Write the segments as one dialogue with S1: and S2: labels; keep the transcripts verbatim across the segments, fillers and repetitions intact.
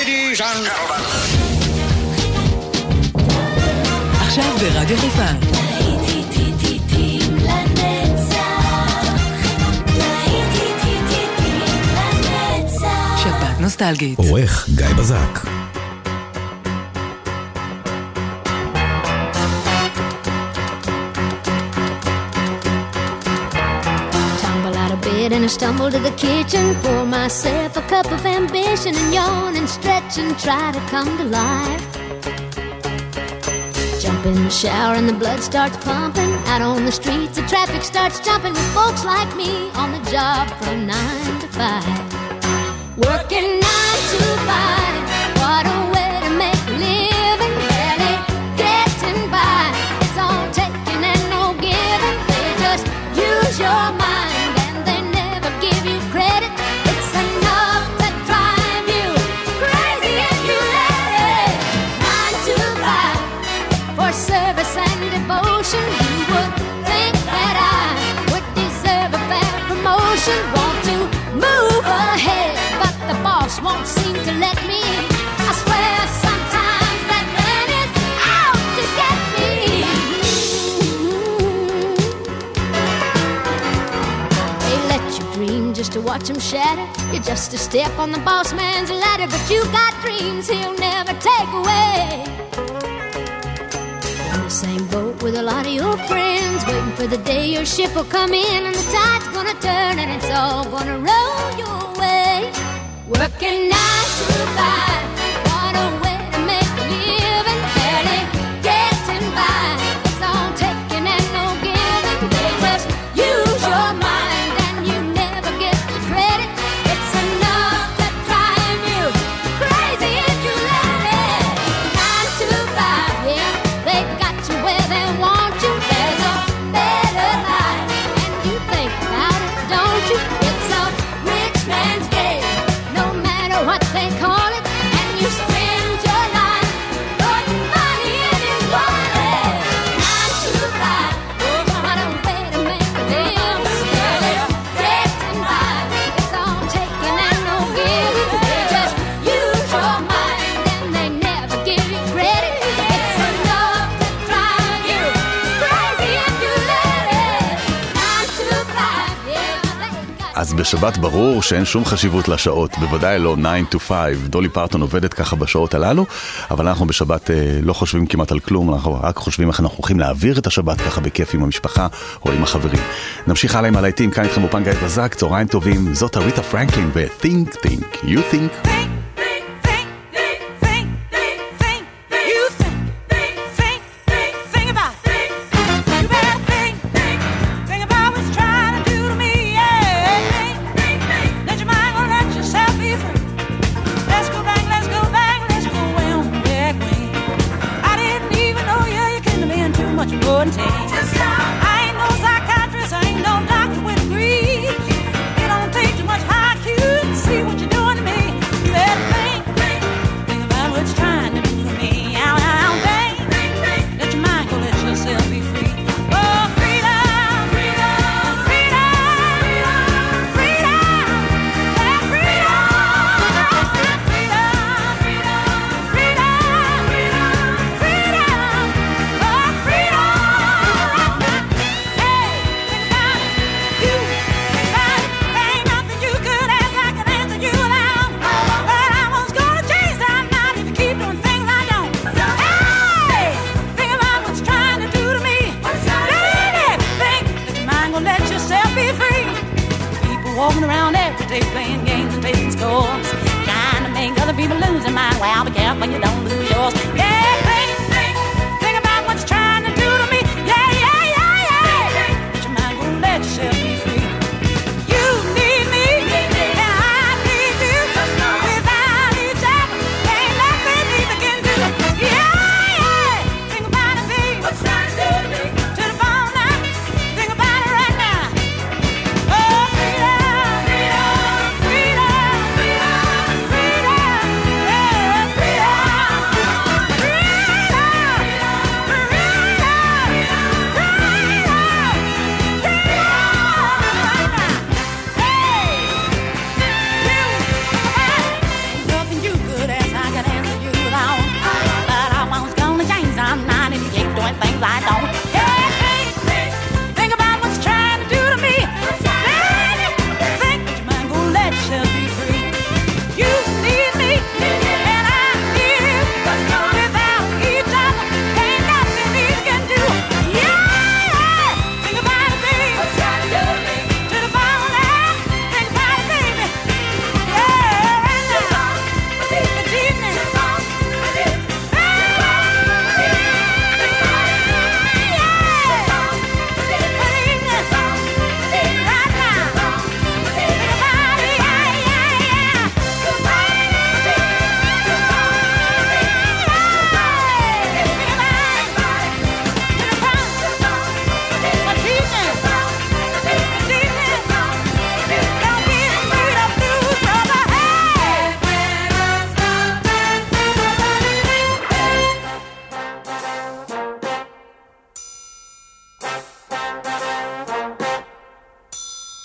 S1: Ladies and gentlemen.
S2: עכשיו ברדיו חיפה. שבת נוסטלגית.
S3: עורך גיא בזק.
S4: And I stumble to the kitchen, pour myself a cup of ambition, and yawn and stretch and try to come to life. Jump in the shower and the blood starts pumping. Out on the streets the traffic starts jumping, with folks like me on the job from nine to five. Working nine to five, what a way to make a living. Barely getting by, it's all taking and no giving. They just use your mind, give you credit. It's enough to drive you crazy if you let it. Nine to five for service and devotion. You would think that I would deserve a fair promotion. Want to move ahead, but the boss won't seem to let me. I swear sometimes that man is out to get me. They let you dream just to watch him shatter. You're just a step on the boss man's ladder, but you got dreams he'll never take away. In the same boat with a lot of your friends, waiting for the day your ship will come in and the tide's gonna turn and it's all gonna roll your way. Working nine to five, what a way to make a living. Barely getting by, it's all taking and no giving. They just use your mind and you never get the credit. It's enough to drive you crazy if you let it. Nine to five, yeah, they got you where they want you. There's a better life, and you think about it, don't you? It's a rich man's game, no matter what they call it. And you spend your life putting money in his wallet. Nine to five, oh, what a way to make a living. Barely getting by, it's all taking and no giving. They just use your mind and they never give you credit. It's enough to drive you crazy if you let it. Nine to five, yeah, they got.
S5: אז בשבת ברור שאין שום חשיבות לשעות, בוודאי לא nine to five. דולי פרטון עובדת ככה בשעות הללו, אבל אנחנו בשבת אה, לא חושבים כמעט על כלום, אנחנו רק חושבים איך אנחנו הולכים להעביר את השבת ככה בכיף עם המשפחה או עם החברים. נמשיך הלאה עם הלהיטים, כאן איתכם אופן גיא בזק, צהריים טובים, זאת אריתה פרנקלין ו-Think Think, You Think.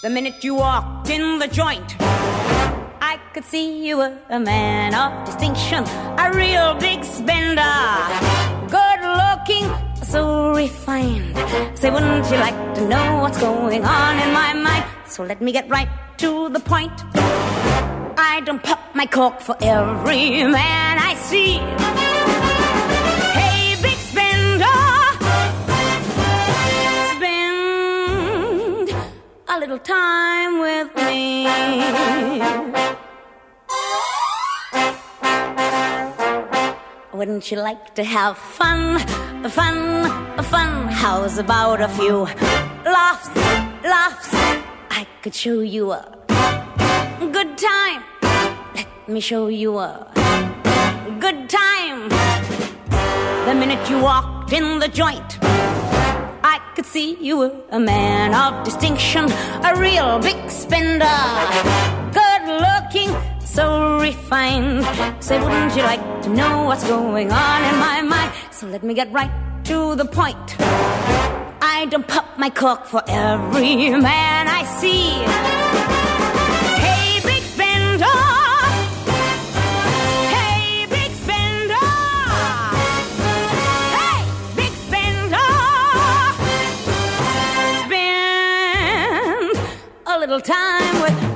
S1: The minute you walked in the joint, I could see you were a man of distinction, a real big spender, good looking, so refined. Say, wouldn't you like to know what's going on in my mind? So let me get right to the point. I don't pop my cork for every man I see. Hey, big spender, spend a little time with me. Wouldn't you like to have fun, fun, fun? How's about a few laughs, laughs? I could show you a good time. Let me show you a good time. The minute you walked in the joint, I could see you were a man of distinction, a real big spender, good looking, so refined. Say, wouldn't you like to know what's going on in my mind? So let me get right to the point. I don't pop my cork for every man I see. Hey, big spender. Hey, big spender. Hey, big spender. Spend a little time with me.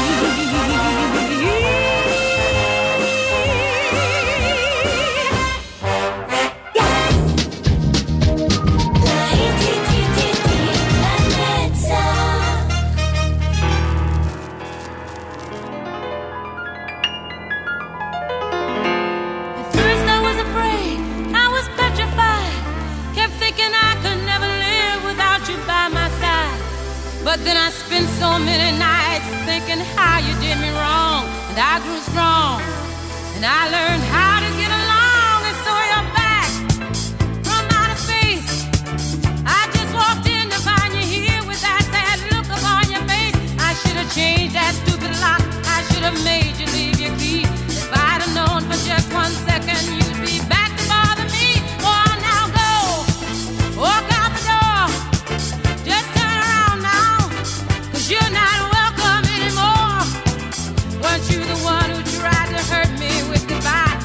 S3: But then I spent so many nights thinking how you did me wrong, and I grew strong, and I learned how to get along, and so you're back from outer space. I just walked in to find you here with that sad look upon your face. I should have changed that stupid lock. I should have made you leave your key. If I'd have known for just one second you'd be back to bother me. Oh, now go, walk out the door. Just turn around now. You're not welcome anymore. Weren't you the one who tried to hurt me with goodbye?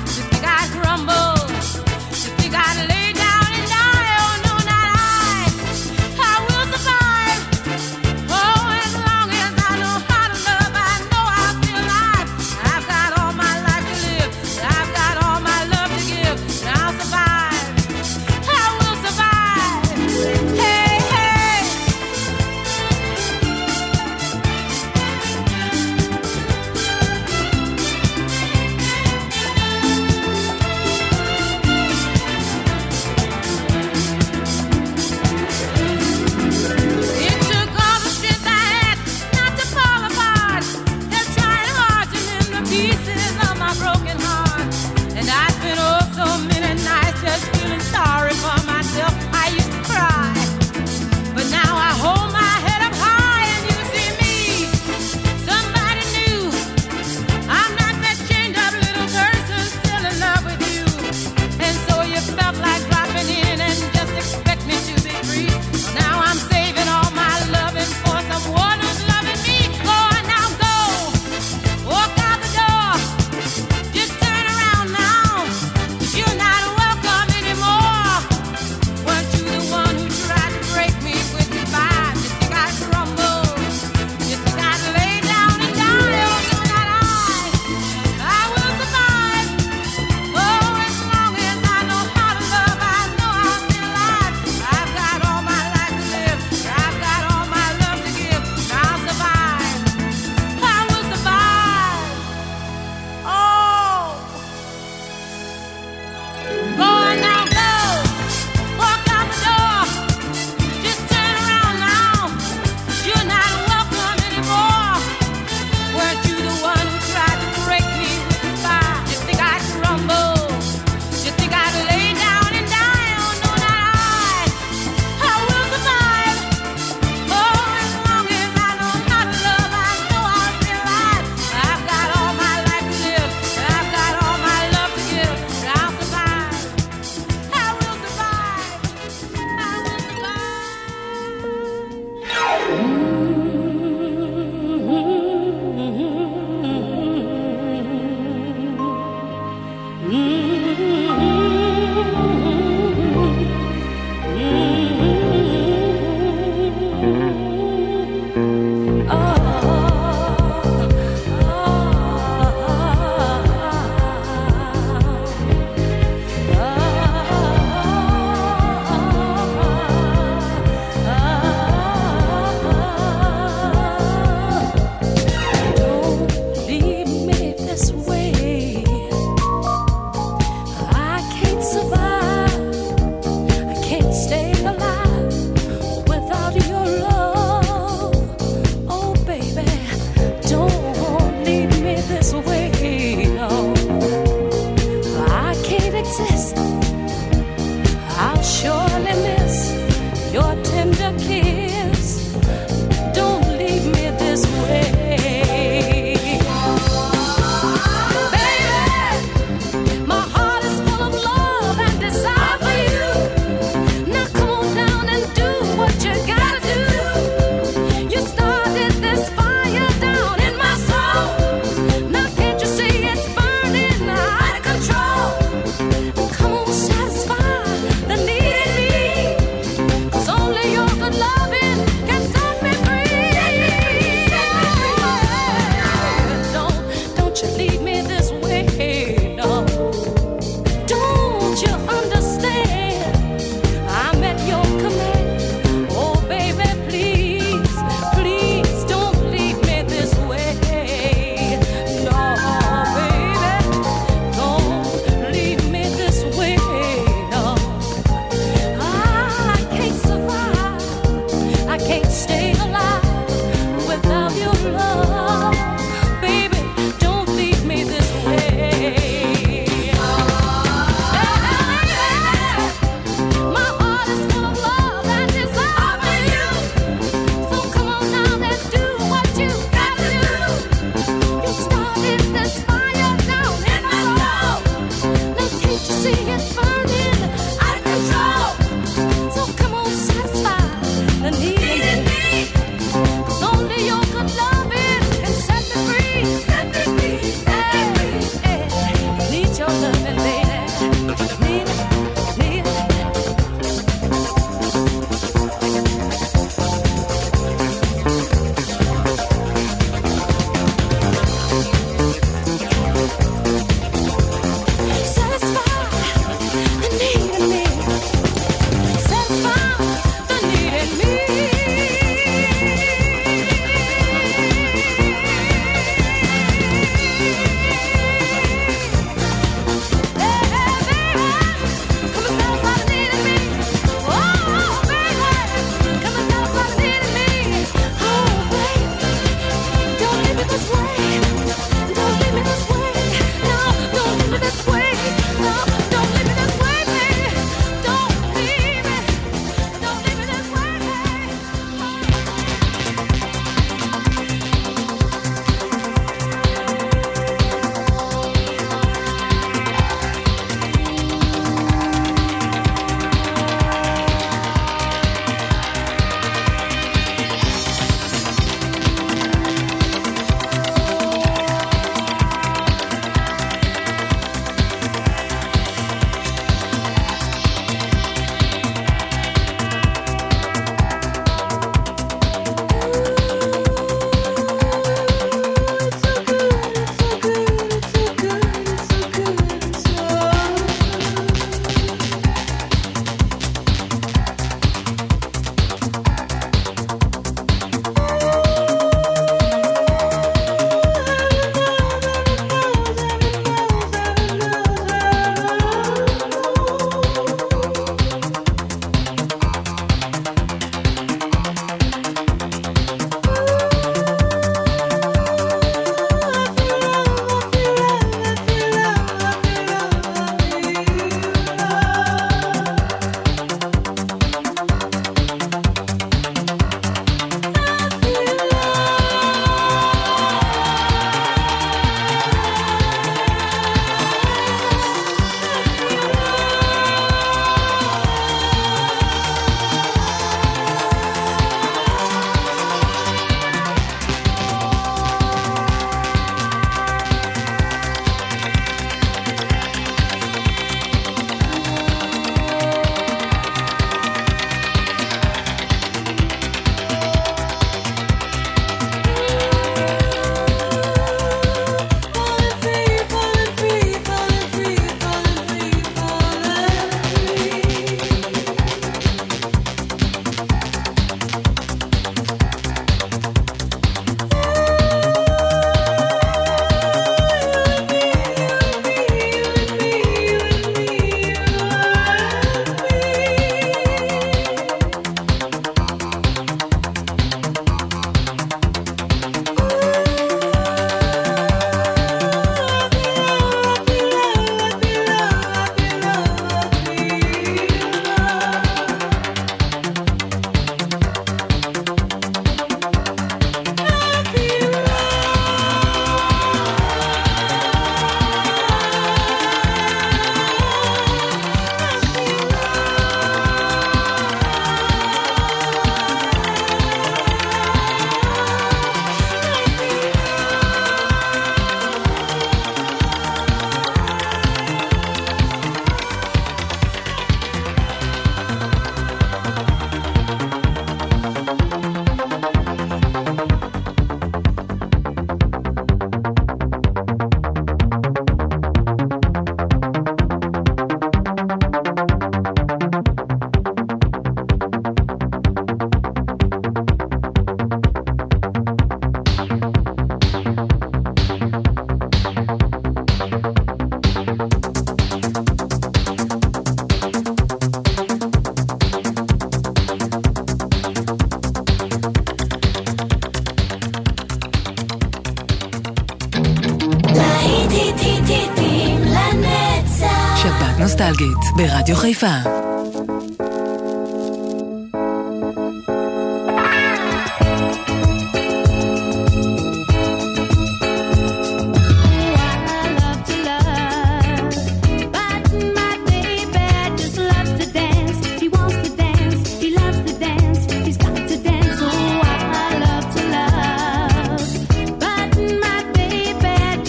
S2: נוסטלגית ברדיו חיפה.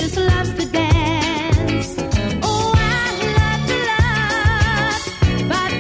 S4: But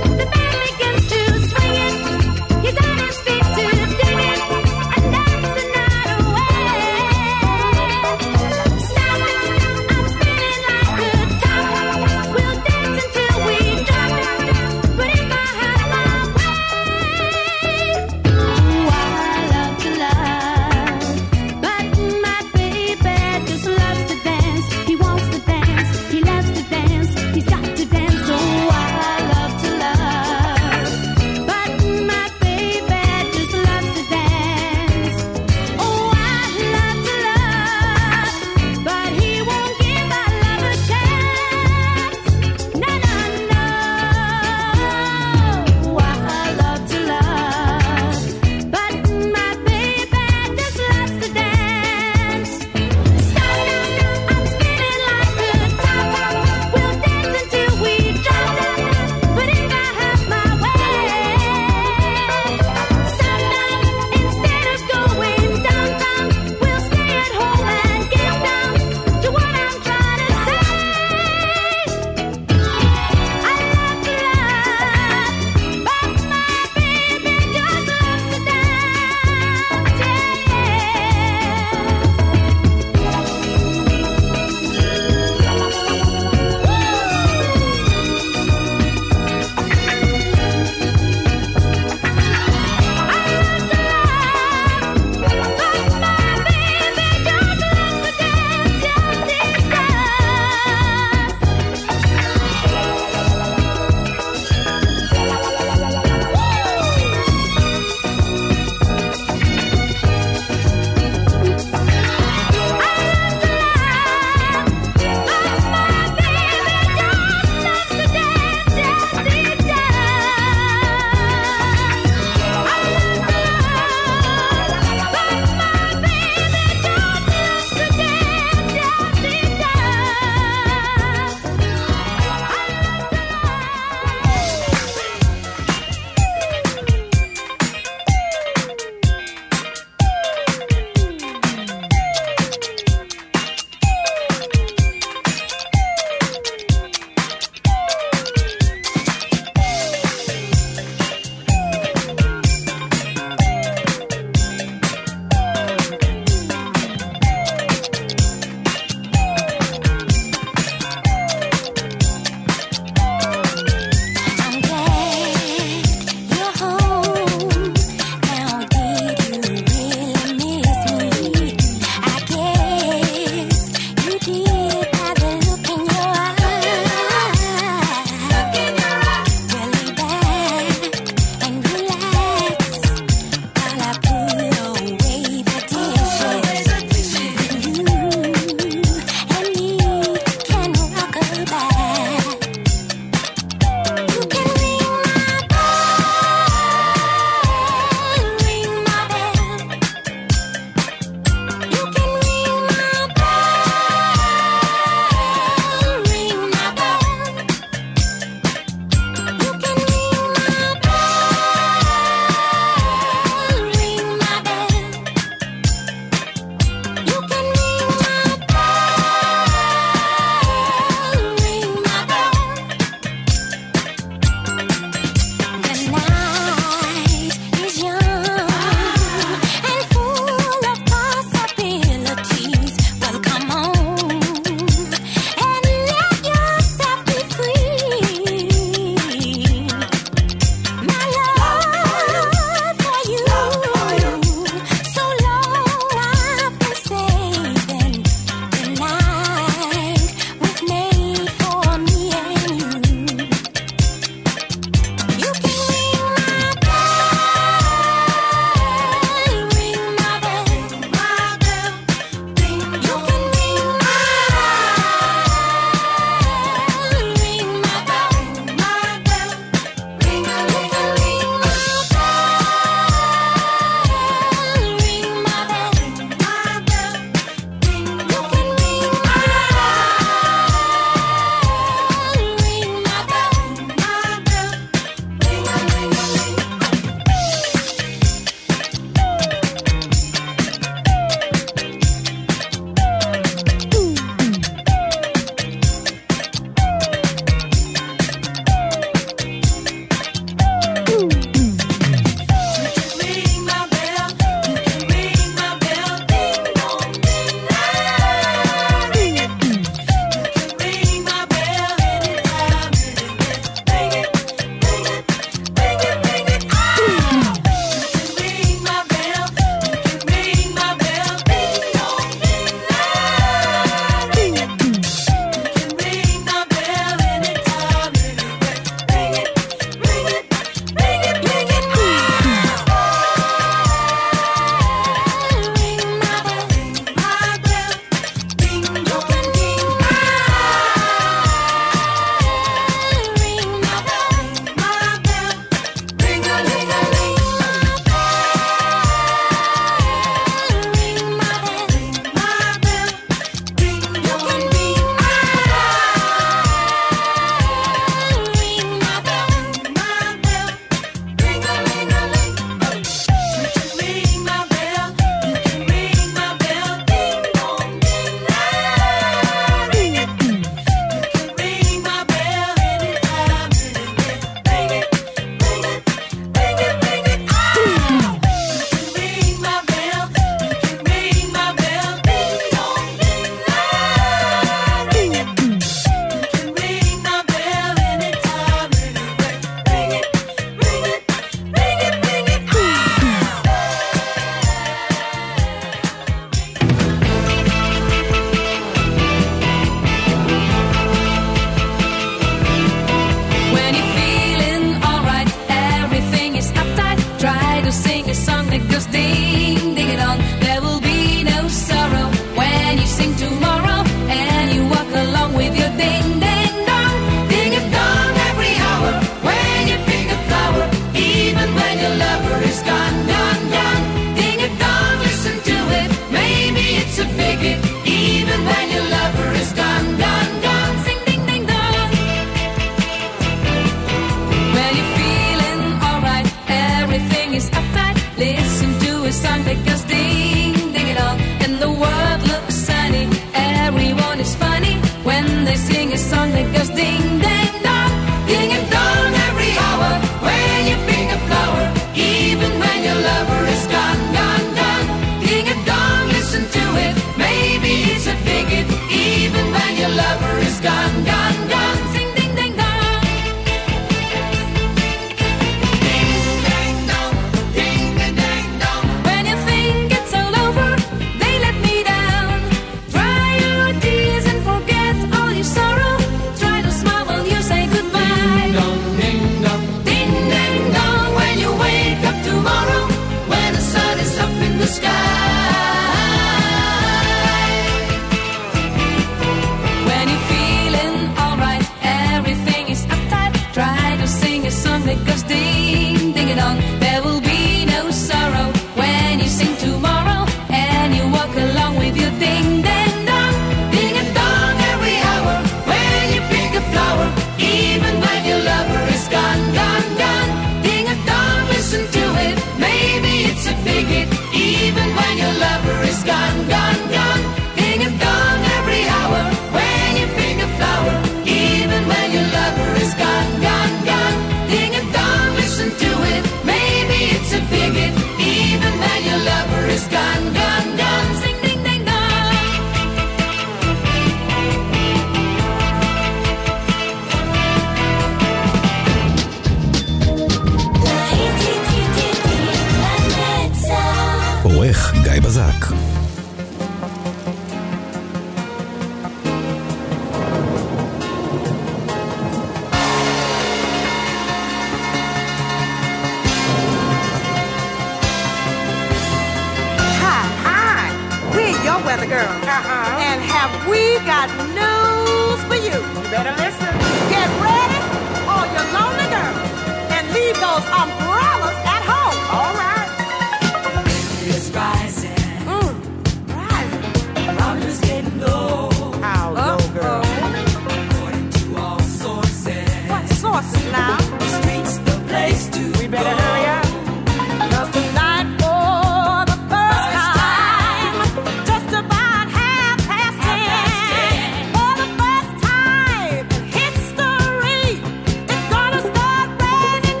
S6: we got news for you. You better listen. Get ready, all you lonely girls, and leave those umbrellas at home. All right.
S7: It's rising.
S6: Mm, rising.
S7: Thermometer's getting low.
S6: How low, girl?
S7: According to all sources.
S6: What sources now?
S7: The streets, the place to
S6: We better
S7: go.
S6: hurry up. Just tonight for the first time, just about half past ten. For the first time in history, it's gonna start raining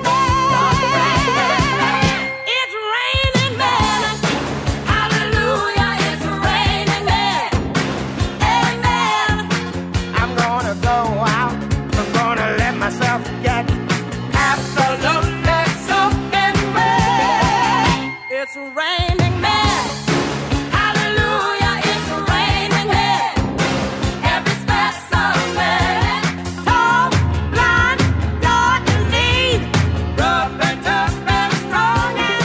S6: men. It's raining men. Hallelujah, it's raining men. Amen. I'm gonna go out. I'm gonna let myself get absolutely soaking wet. It's raining men. Hallelujah, it's raining men. Every specimen, tall, blind, dark and lean, rough and tough and strong and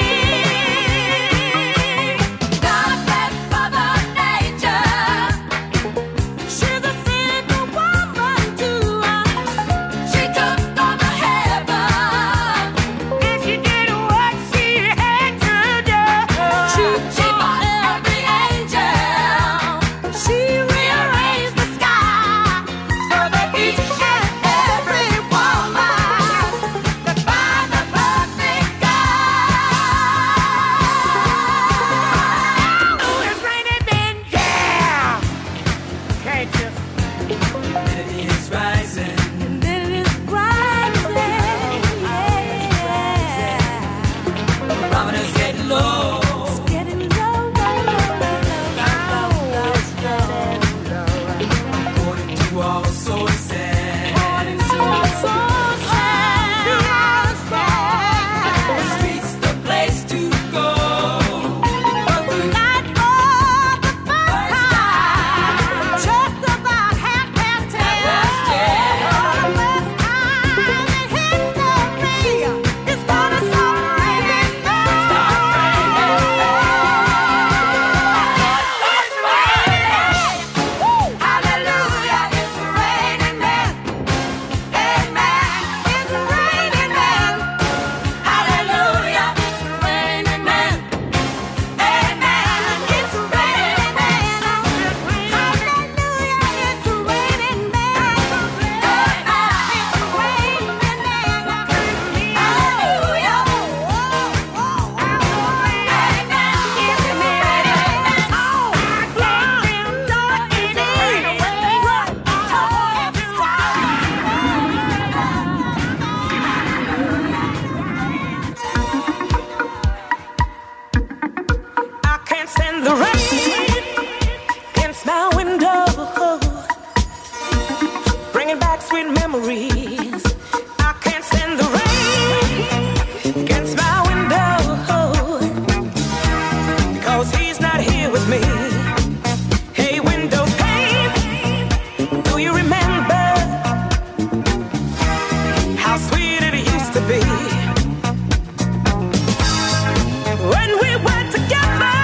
S6: mean. God bless Mother Nature. She's a single woman too. She took on the heaven, and she did what she had to do. She, she bought every angel. She rearranged the sky so that each and every woman could find the perfect guy. Oh, it's raining men, yeah. Can't you?
S7: It's rising.
S6: And then it's rising, yeah.
S7: Thermometer's getting low.
S6: It's getting low, low, low, low, low. It's getting low.
S7: According to all sources.
S6: According to our sources,
S7: The streets, the place to go.
S6: tonight for the first time, just about half past ten. For the first time in history, it's gonna start raining men. It's raining. Hallelujah, it's raining men. Amen. It's raining men. Hallelujah, it's raining men. Amen. It's raining men. Hallelujah, it's raining men. It's raining men. Hallelujah. I can't stand the rain against my window, bringing back sweet memories. I can't stand the rain against my window, because he's not here with me. Hey, window pane, do you remember how sweet it used to be? When we were together,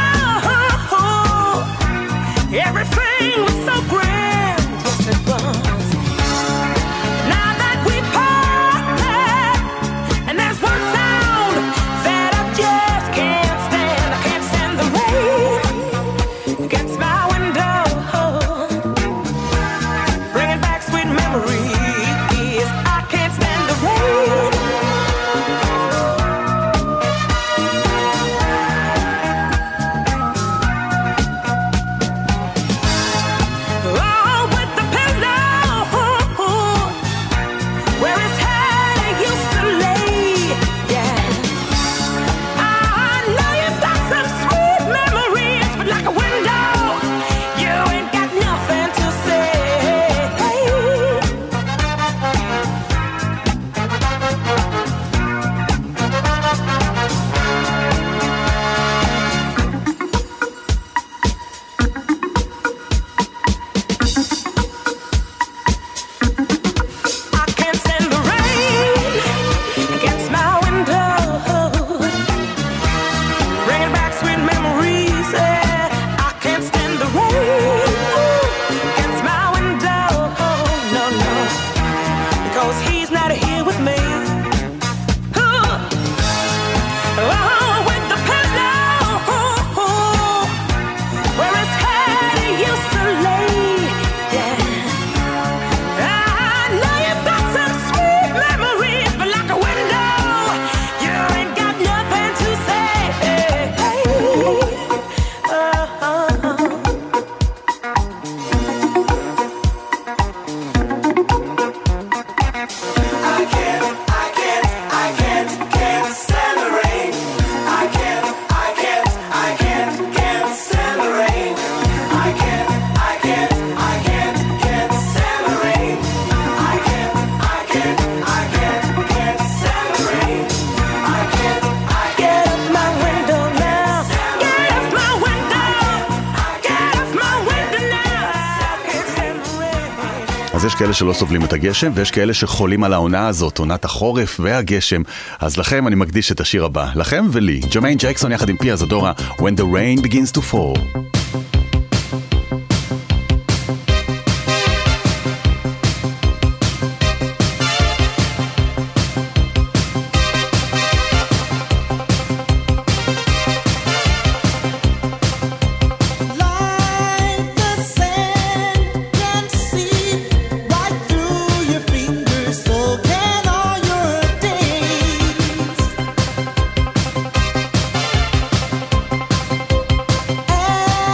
S6: everything was so grand, yes it was. Now that we parted, and there's one sound that I just can't stand. I can't stand the rain against my window, bringing back sweet memories. I can't stand the rain. Oh, with the pillow where his head used to lay, yeah. I know you've got some sweet memories, but like a window, you ain't got nothing to say.
S8: 'cause he's not here with me. Oh, oh, with the pillow where his head he used to lay. Yeah, I know you've got some sweet memories, but like a window, you ain't got nothing to say. Oh, oh, oh.
S7: I can't, I can't, I can't, can't stand the rain. I can't, I can't, I can't, can't stand the rain. I can't, I can't, I can't, can't stand the rain. I can't, I can't, I can't, can't stand the rain. I can't, I
S8: Get off my window now. Get off my window. Get off my window now. I can't stand the rain.
S5: אז יש כאלה שלא סובלים את הגשם, ויש כאלה שחולים על העונה הזאת, עונת החורף והגשם. אז לכם אני מקדיש את השיר הבא, לכם ולי, ג'רמיין ג'קסון יחד עם פיה זדורה, When the Rain Begins to Fall.
S9: Like the sand can seep right through your fingers, so can all your days.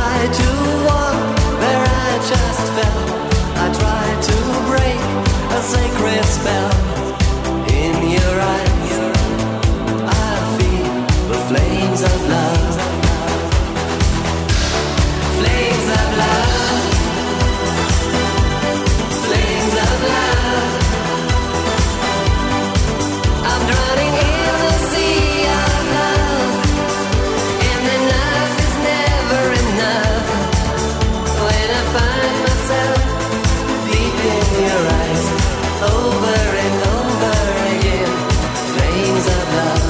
S10: tried to walk where I just fell. I tried to break a sacred spell. In your eyes, I feel the flames of love. Flames of love. Flames of love. I'm drowning in the sea of love, and enough is never enough. When I find myself deep in your eyes, over and over again, flames of love.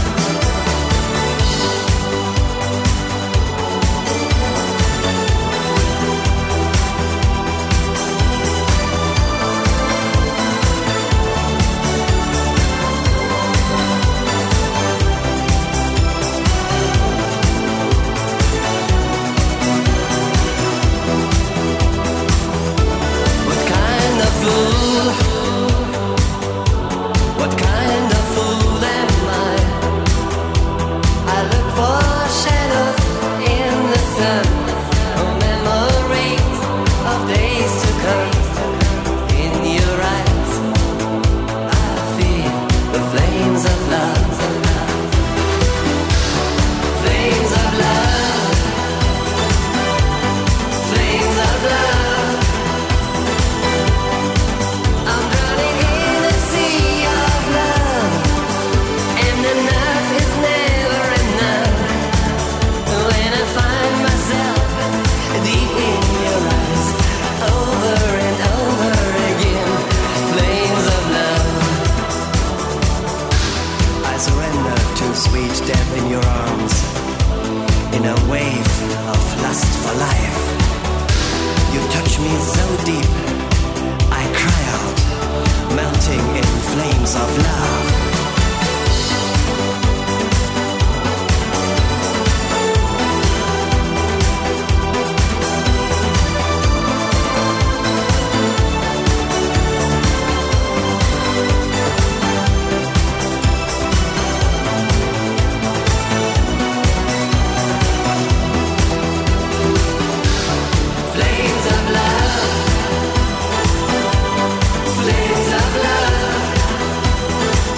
S10: What kind of fool? What kind of fool am I? I look for shadows in the sun, for memories of days to come. In your eyes, I feel the flames of love. Flames of love. Flames of love. I'm drowning in a sea of love, and enough is never enough. When I find myself deep in your eyes, over and over again, flames of love. I surrender to sweet death in your arms, in a wave of lust for life. You touch me so deep, I cry out, melting in flames of love. Flames of love. Flames of love.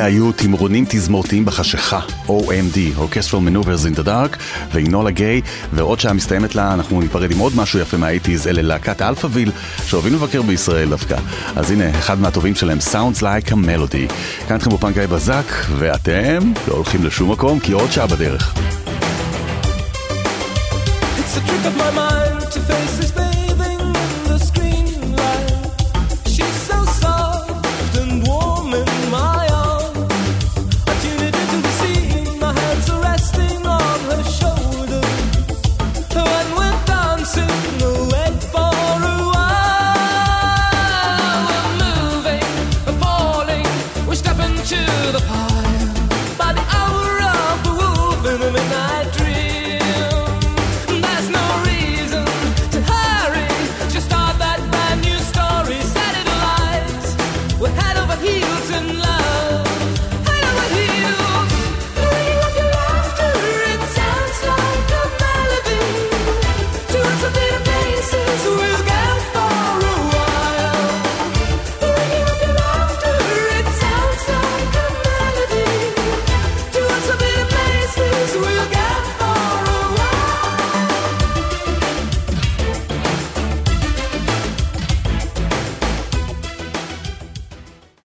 S5: אלה היו תמרונים תזמורתיים בחשיכה, O M D, Orchestral Maneuvers in the Dark, ואינולה גיי, ועוד שעה מסתיימת לה, אנחנו ניפרד עם עוד משהו יפה מה-שמונים, אלה להקת אלפאביל, שאוהבים לבקר בישראל דווקא. אז הנה, אחד מהטובים שלהם, Sounds Like a Melody. כאן אתכם באופן גיא בזק, ואתם לא הולכים לשום מקום, כי עוד שעה בדרך.
S9: It's a trick of my mind to face this baby.